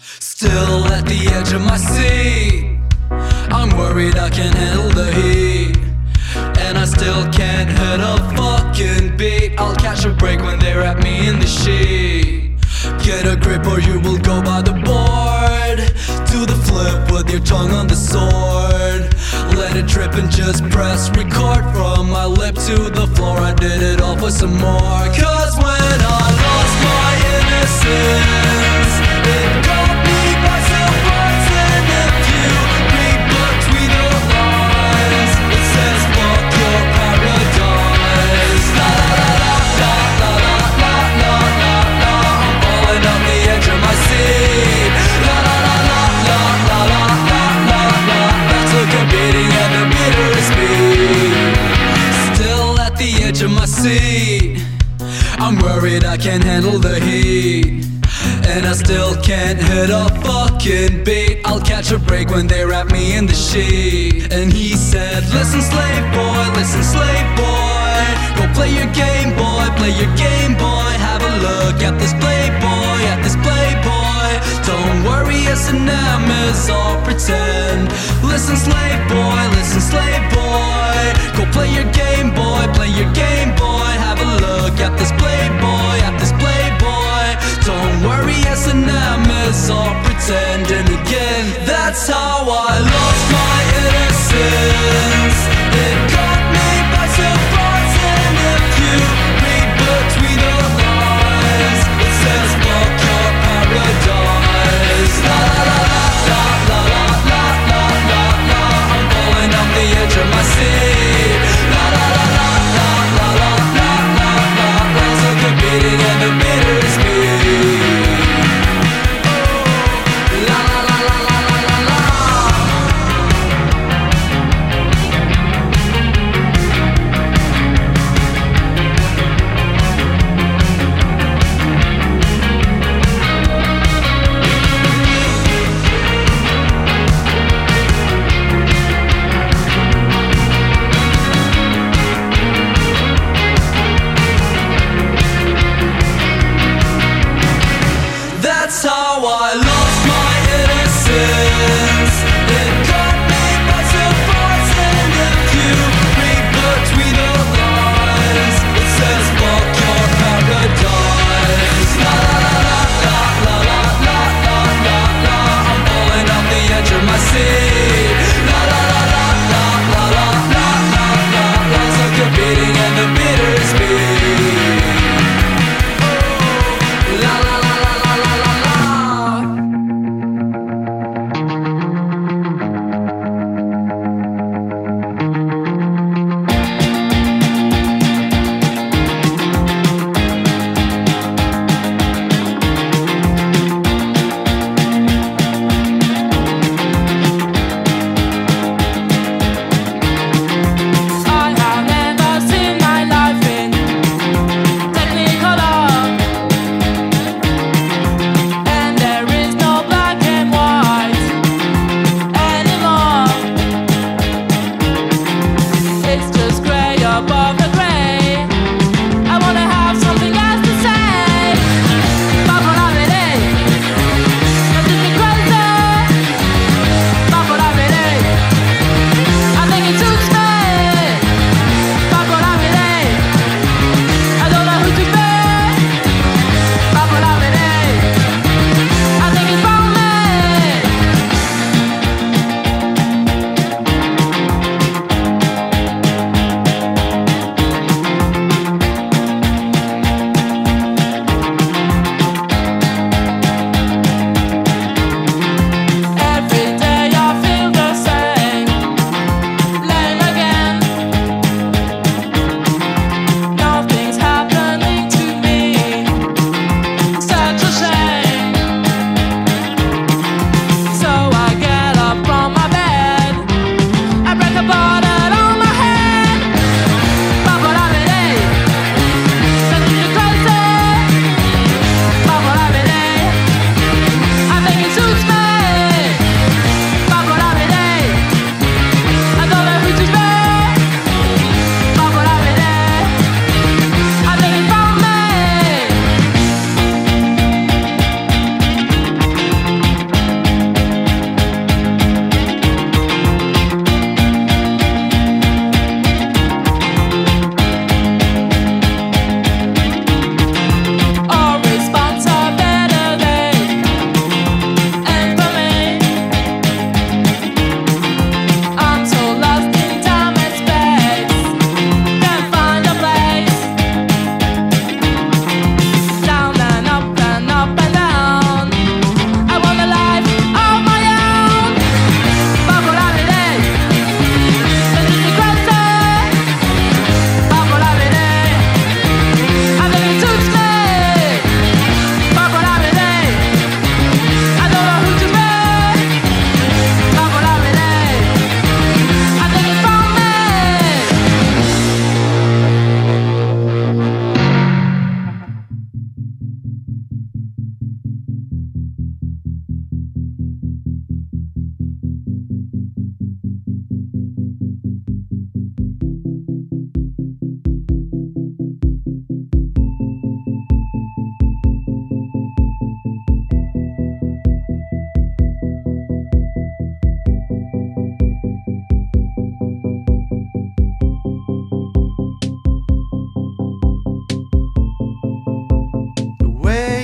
Still at the edge of my seat, I'm worried I can't handle the heat, and I still can't hit a fucking beat. I'll catch a break when they wrap me in the sheet. Get a grip or you will go by the board. Do the flip with your tongue on the sword. Let it drip and just press record. From my lip to the floor, I did it all for some more. Cause when I lost my innocence, it caught me by surprise. And if you read between the lines, it says fuck your paradise. La la la la la la la la la. I'm falling off the edge of my seat. La la la la la la la la la la. That's like a beating at the bitterest beat. Still at the edge of my seat, I'm worried I can't handle the heat, and I still can't hit a fucking beat. I'll catch a break when they wrap me in the sheet. And he said, listen slave boy, go play your game boy, play your game boy. Have a look at this playboy, don't worry, S&M is all pretend. Listen slave boy, go play your game boy, play your game boy. Have a look at this playboy, don't worry, S&M is all pretend. And again, that's how I lost my innocence. It caught me by surprise. And if you read between the lines, it says fuck your paradise. La la la la la la la la la la. I'm falling off the edge of my seat. La la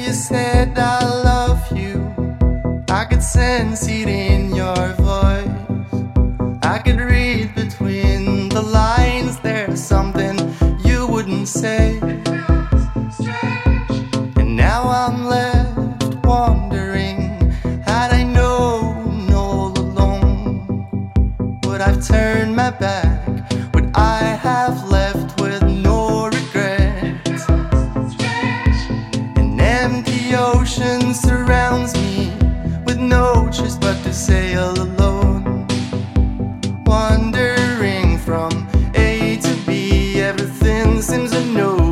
you said I love you, I could sense it in your voice. I could read between the lines, there's something you wouldn't say. And now I'm left wondering, had I known all along, would I've turned my back? Would I have left with no regrets? An empty ocean surrounds me with no choice but to sail alone, wandering from A to B, everything seems unknown.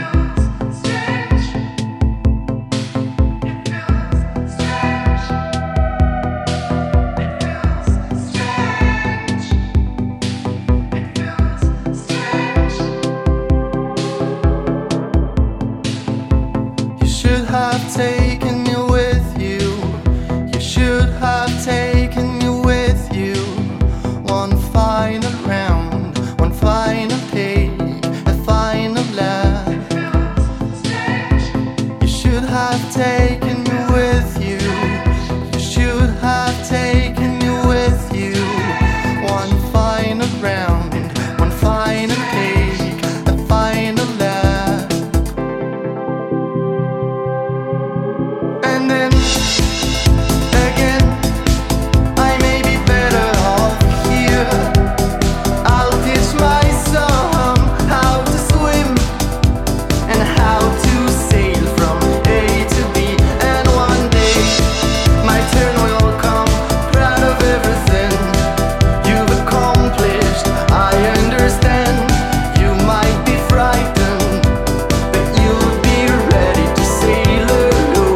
You should have taken me with you. You should have taken me with you. One final round, one final take, a final laugh. You should have taken me with you. You should have taken me with you. One final round, one final take, a final laugh. And then again, I may be better off here. I'll teach my son how to swim and how to sail from A to B. And one day my turn will come, proud of everything you've accomplished. I understand you might be frightened, but you'll be ready to sail alone.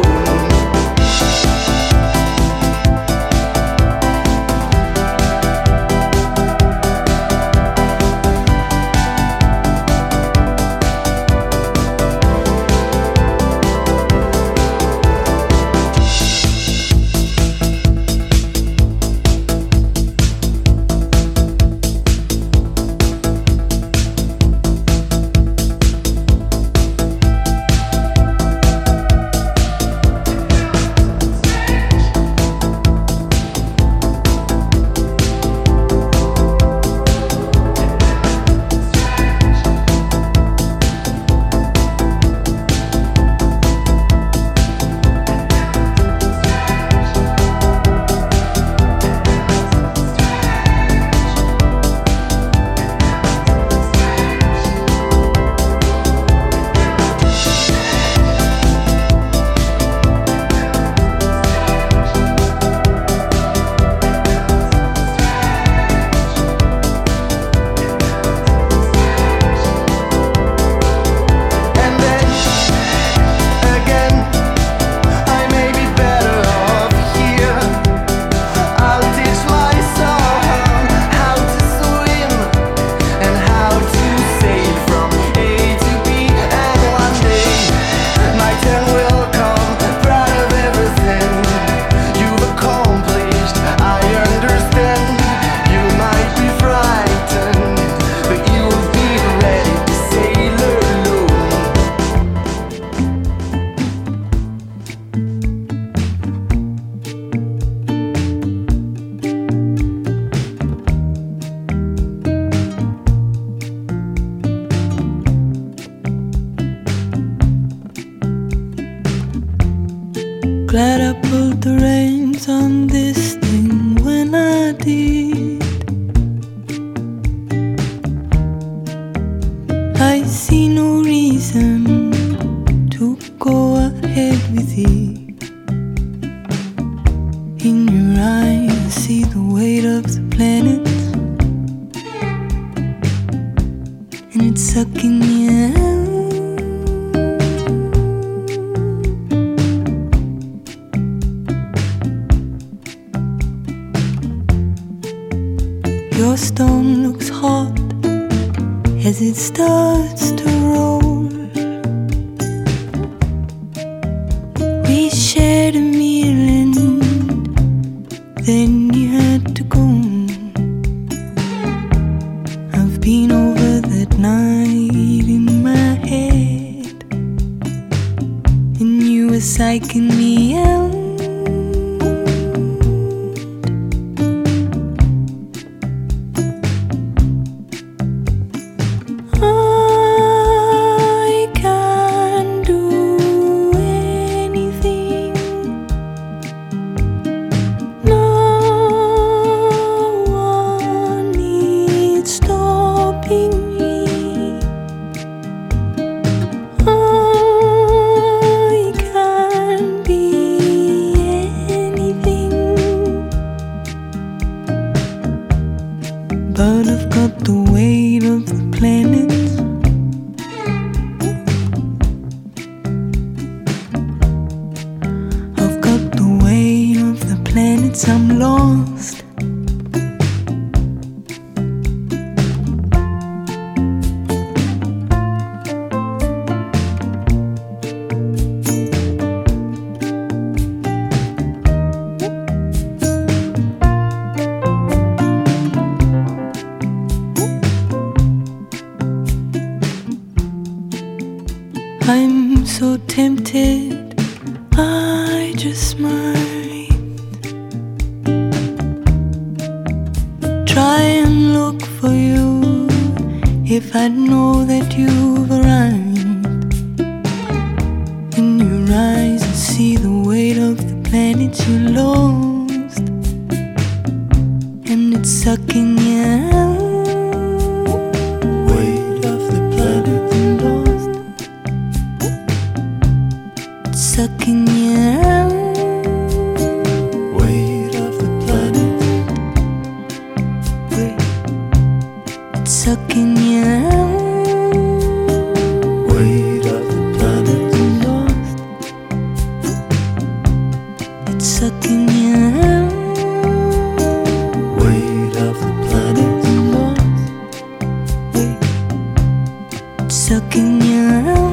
And then again, I may be better off here. I'll teach my son how to swim and how to sail from A to B. And one day my turn will come, proud of everything you've accomplished. I understand you might be frightened, but you'll be ready to sail alone. Glad I pulled the reins on this thing when I did. I see no reason to go ahead with it. In your eyes, I see the weight of the planets, and it's sucking me out. Your stone looks hot as it starts to roll. We shared a meal and then you had to go. I've been over that night in my head, and you were psyching me out. I can't do anything. No one needs stopping me. I can't be anything, but I've got the weight of the planets. I've got the weight of the planets. I'm lost. I'm so tempted, I just might try and look for you. If I'd know that you've arrived, in your eyes I see the weight of the planets you lost, and it's sucking you out. Weight of the planet you lost, sucking you out. Weight of the planet. Wait. It's sucking you out. Weight of the planet. Lost. It's sucking you out. Weight of the planet. Lost. Wait. It's sucking you out.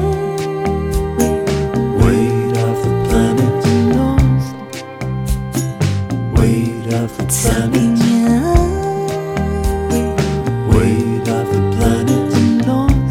Weight of the planet lost. Weight of the planet. Weight of the planet lost.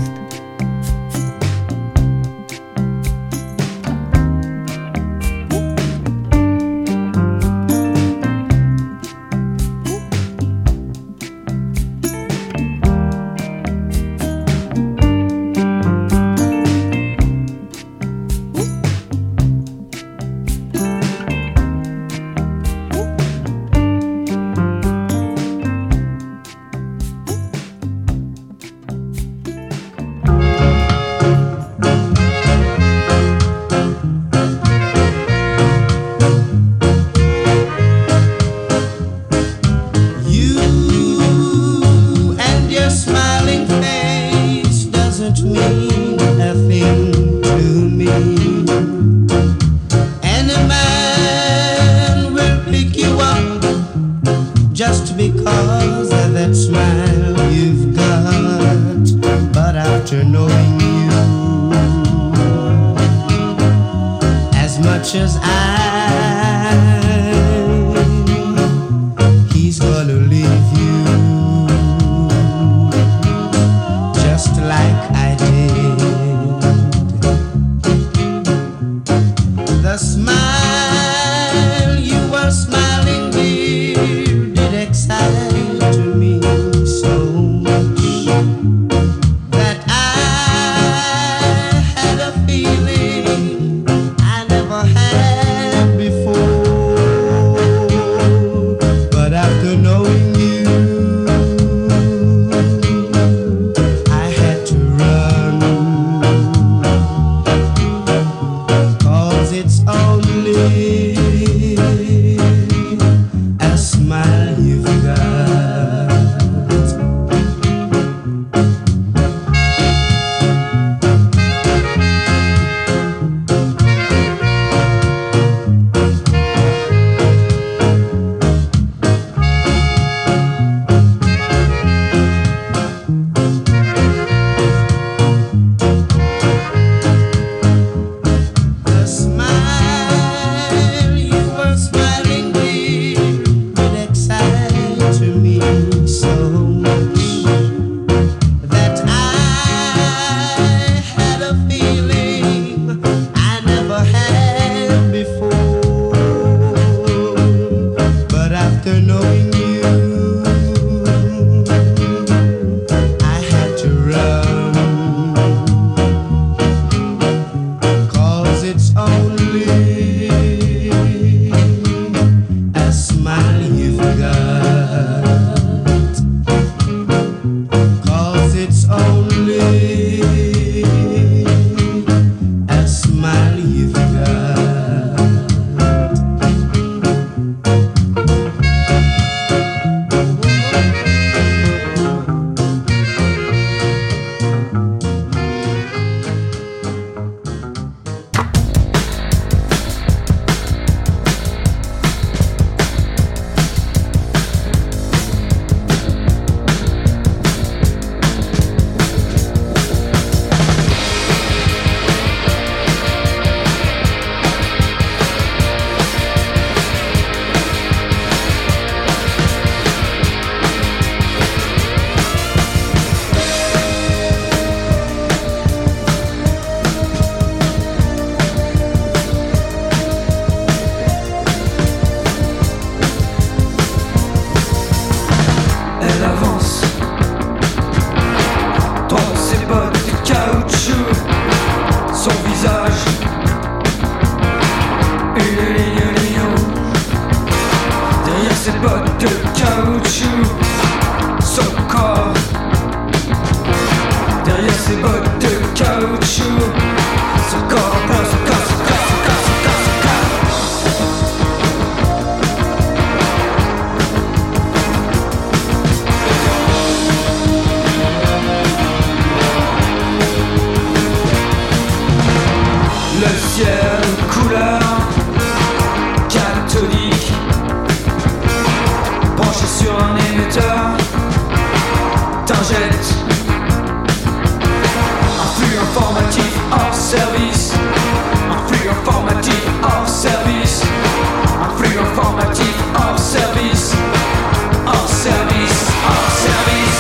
Just because of that smile you've got. But after knowing you as much as he's gonna leave you just like I did. The smile you were smiling, dear, did excite me so much that I had a feeling I never had before. But after knowing you, I had to run, 'cause it's only a smile you've got. The smile you were Derrière ses bottes de caoutchouc, son corps. Derrière ses bottes de caoutchouc, son corps, son corps, son corps, son corps, son corps, son corps, son corps. Le ciel couleur cathodique, branché sur un émetteur, t'injecte un flux informatif hors service, un flux informatif hors service, un flux informatif hors service, hors service, hors service.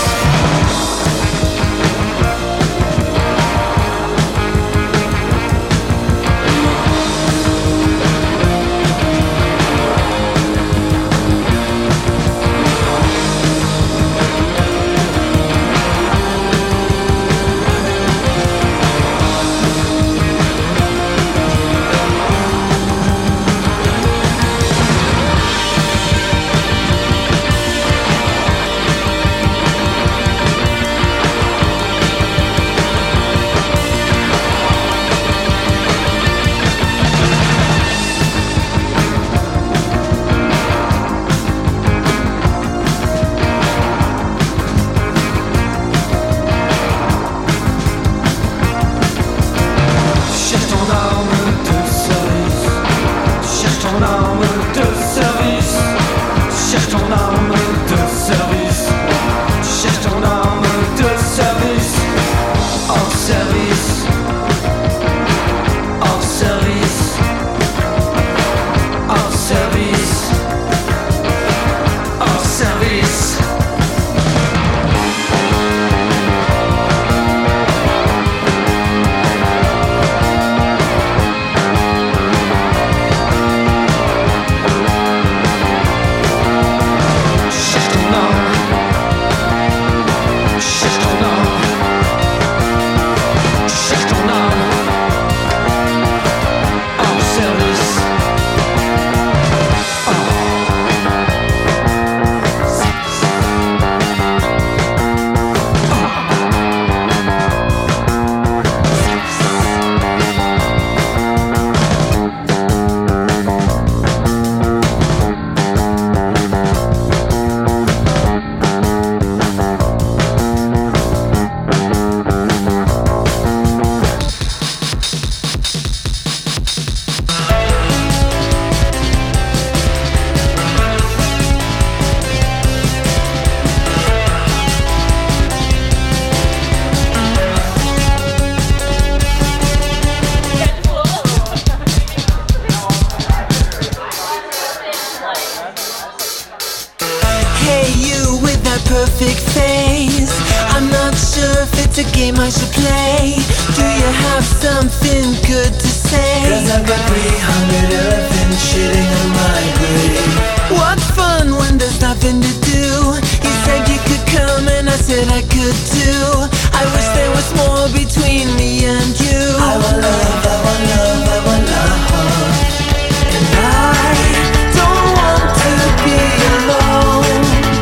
perfect face. I'm not sure if it's a game I should play. Do you have something good to say? 'Cause I've got 300 elephants shitting on my grave. What fun when there's nothing to do. You said you could come and I said I could too. I wish there was more between me and you. I want love, I want love, I want love. And I don't want to be alone.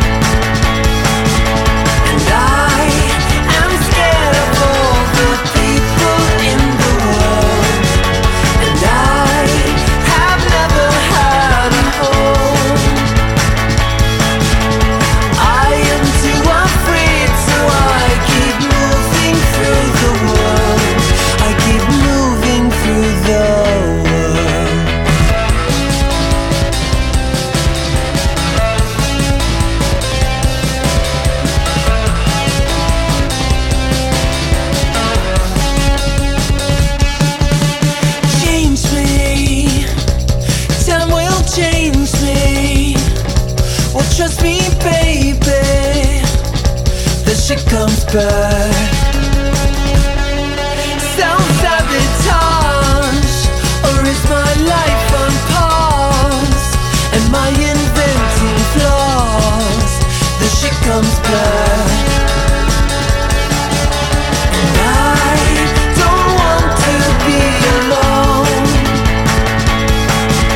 And I am scared of all the people in the world. And I have never had a home. I am too afraid, so I keep moving through the world. I keep moving through the world. Change me, time will change me. Well, trust me, baby, the shit comes back. Self-sabotage, or is my life on pause? Am I inventing flaws? The shit comes back. And I don't want to be alone.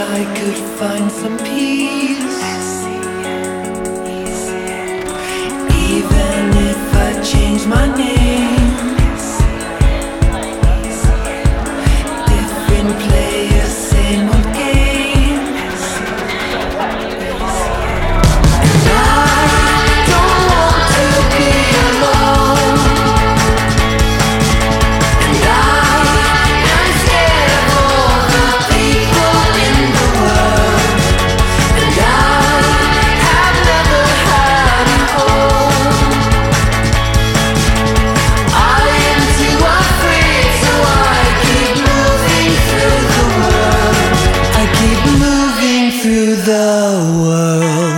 I could find some peace. Even if I change my name, different players, same old games. And I don't want to be alone. And I am scared of all the people in the world. And I have never had a home. I am too afraid, so I keep moving through the world. I keep moving through the world.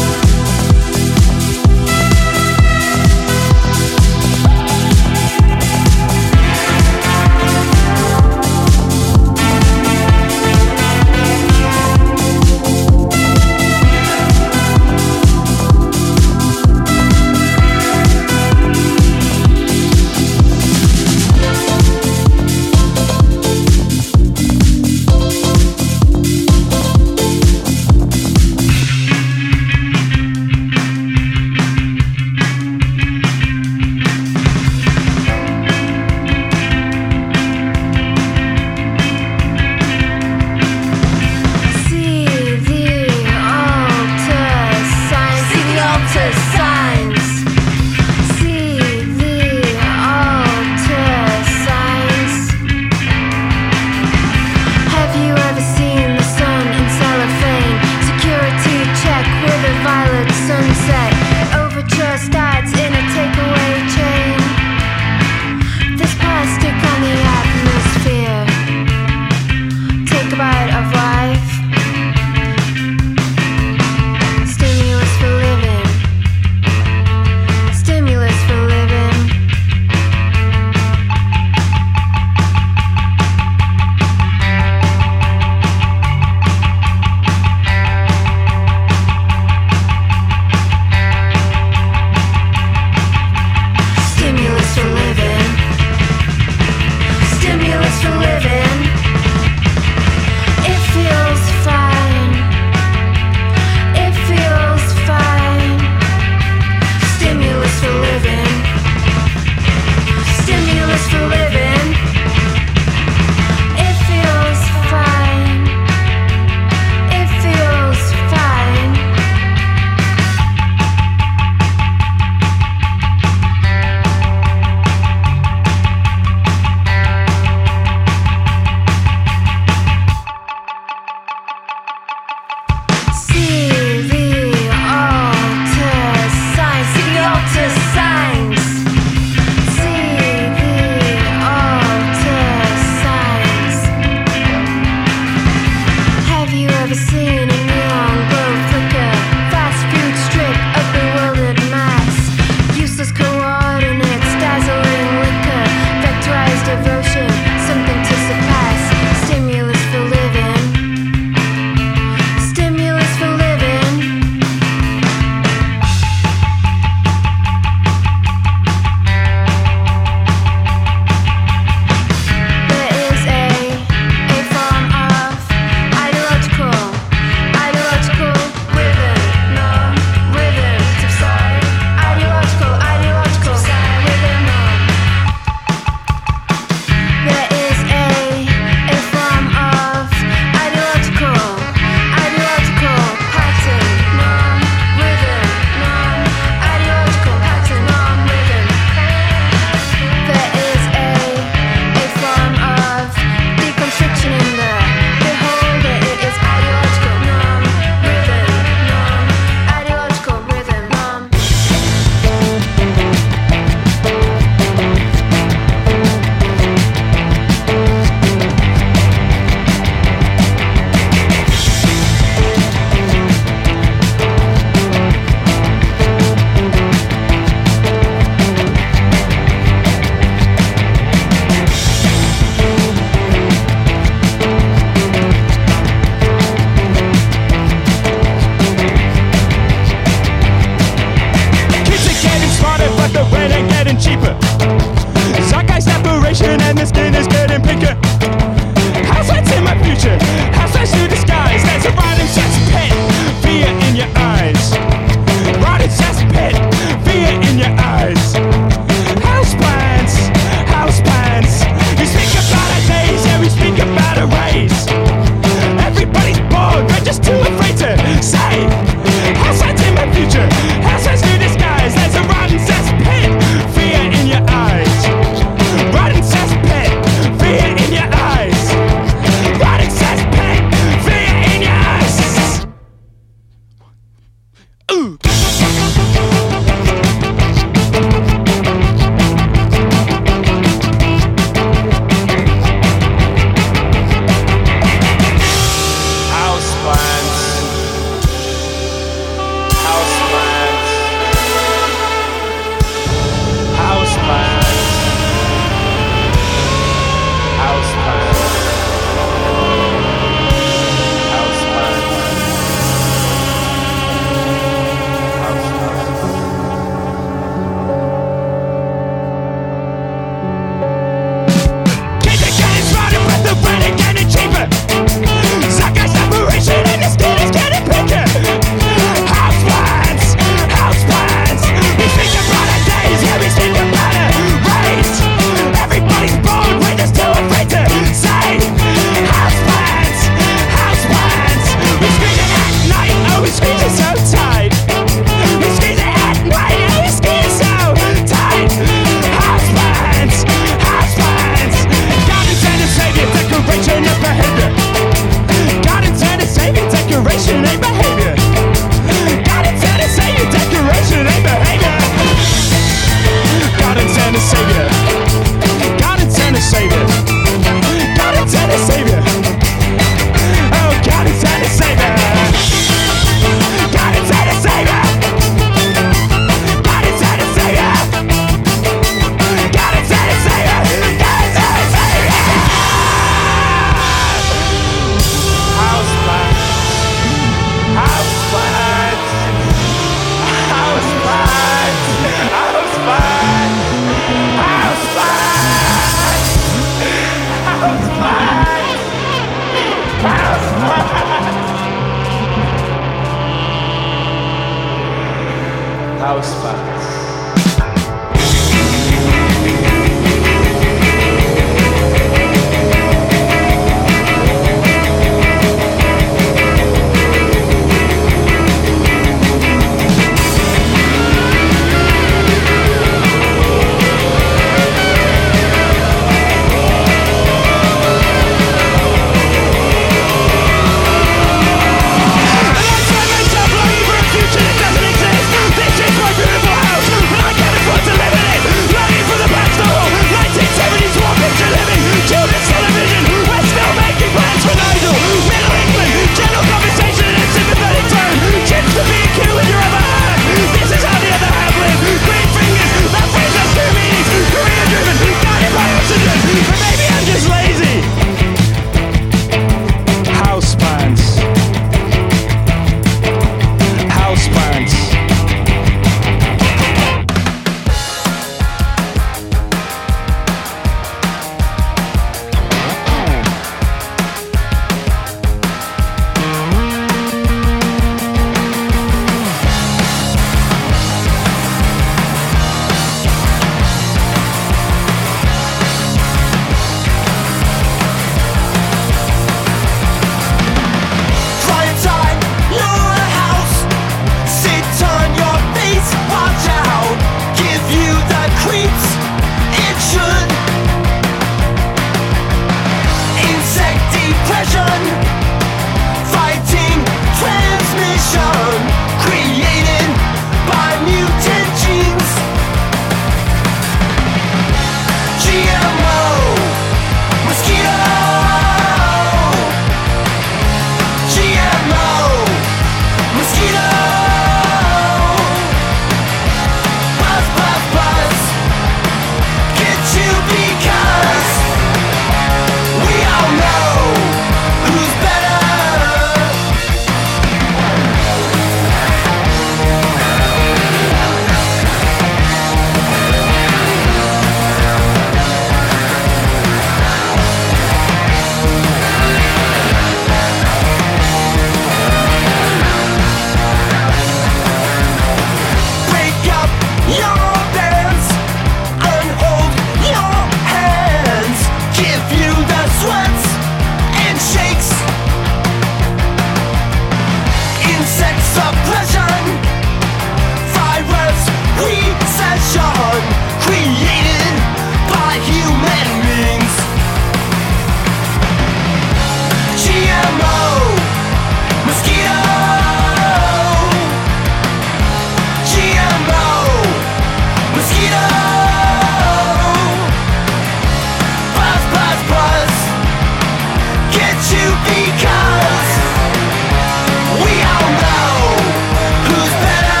Because we all know who's better.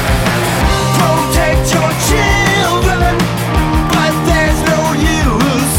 Protect your children, but there's no use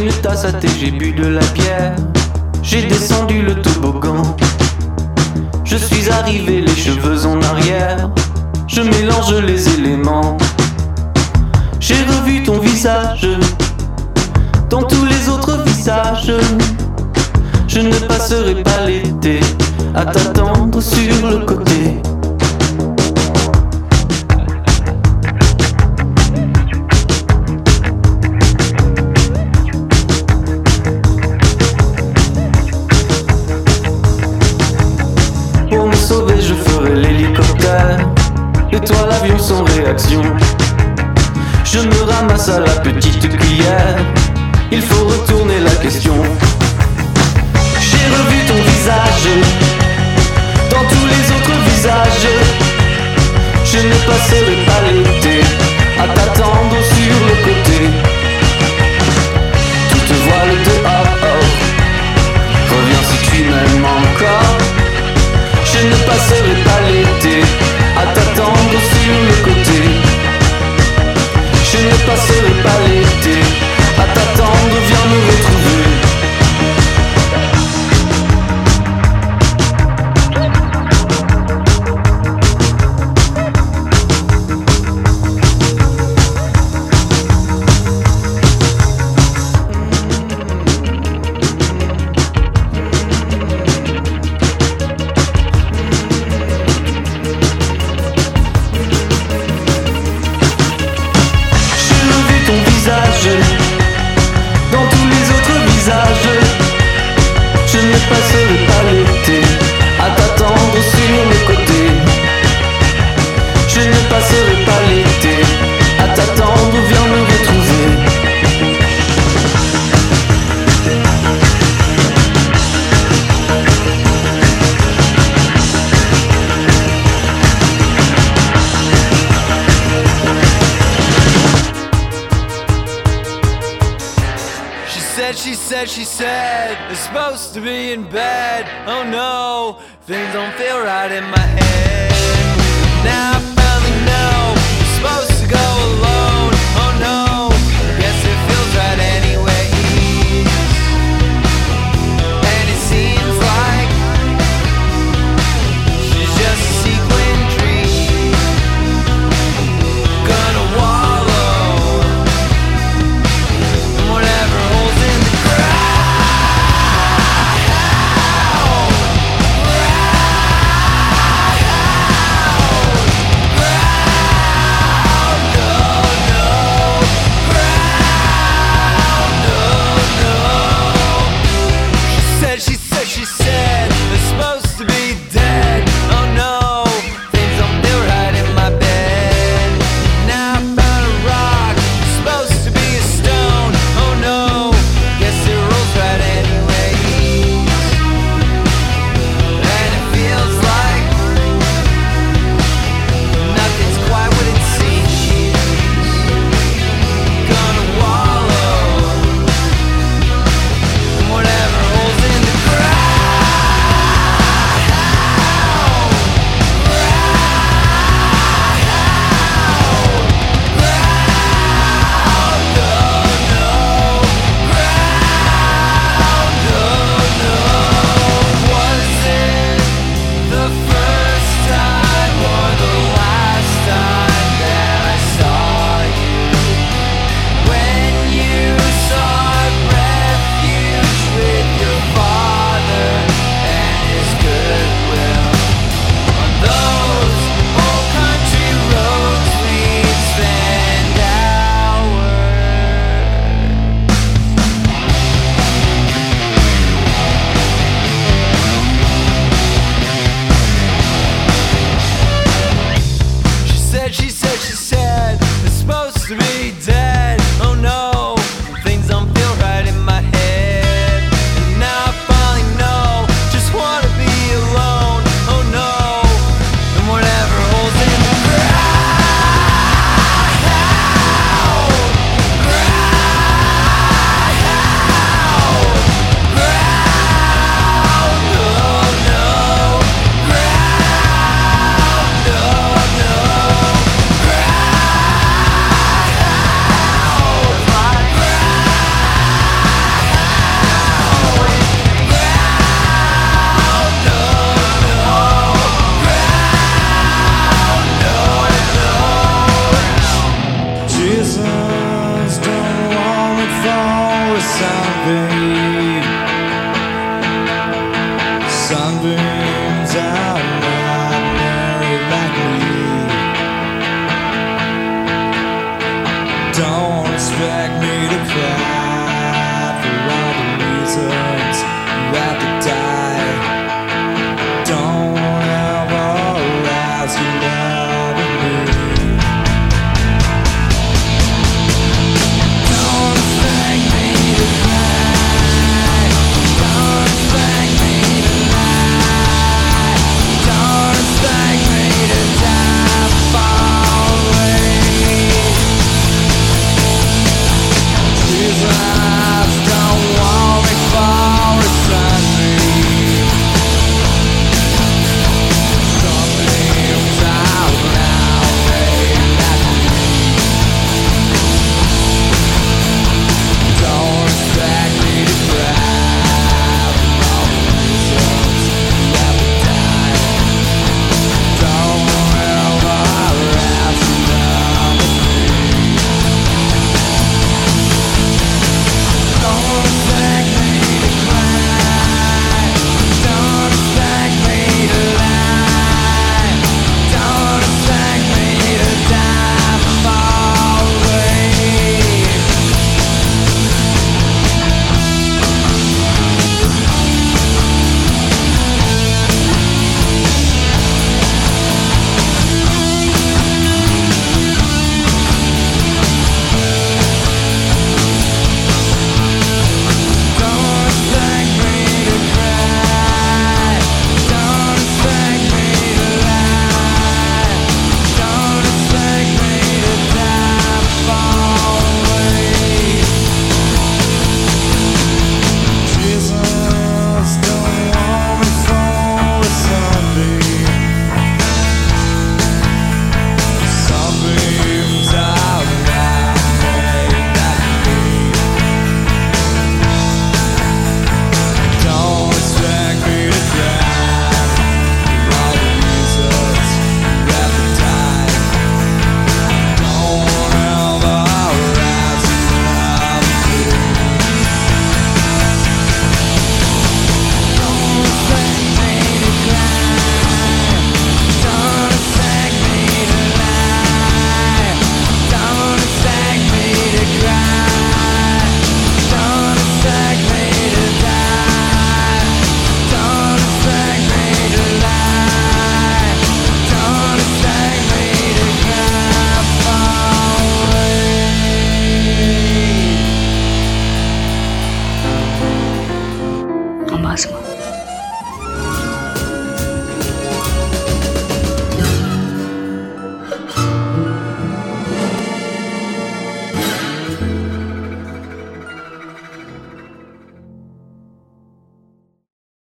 une tasse à thé, j'ai bu de la bière. J'ai descendu le toboggan. Je suis arrivé les cheveux en arrière. Je mélange les éléments. J'ai revu ton visage dans tous les autres visages. Je ne passerai pas l'été à t'attendre sur le côté. Pour me sauver, je ferai l'hélicoptère et toi l'avion sans réaction. Je me ramasse à la petite cuillère. Il faut retourner la question. J'ai revu ton visage dans tous les autres visages. Je ne passerai pas l'été à t'attendre sur le côté. Toutes voiles dehors, reviens si tu m'aimes encore. Je ne passerai pas l'été à t'attendre sur le côté. Je ne passerai pas l'été à t'attendre, viens me retrouver. Dans tous les autres visages, je ne passerai pas l'été à t'attendre sur le côté. Je ne passerai pas l'été à t'attendre, viens me retrouver. She said, we're supposed to be in bed. Oh no, things don't feel right in my head. Now I finally know, we're supposed to go alone. Oh no, guess it feels right anyway. And it seems like she's just a sequin tree, gonna wallow in whatever holes in the ground. fade. Sunbeams are not married like me. Don't expect me to cry for all the reasons you have to die. Don't ever ask you loving me. Don't expect me to cry. Don't expect me to lie. Don't expect me to die far away. Jesus, don't want me for a Sunday. Sunbeams out now, don't expect me to cry for all the reasons you have to die. Don't ever ask me love with me. Don't expect me to cry. Don't expect me to lie. Don't expect me to die far away. Don't expect me to cry. Don't expect me to lie. Don't expect me to die far away. Jesus, don't want me for a Sunday. Sunbeams out now, made that me. Don't expect me to cry for all the reasons you have to die. Don't ever ask me love with me. Don't expect me to cry. Don't expect me to lie. Don't expect me to cry. Don't expect me to die. Don't expect me to lie. Don't expect me to cry far away. Embrasse-moi.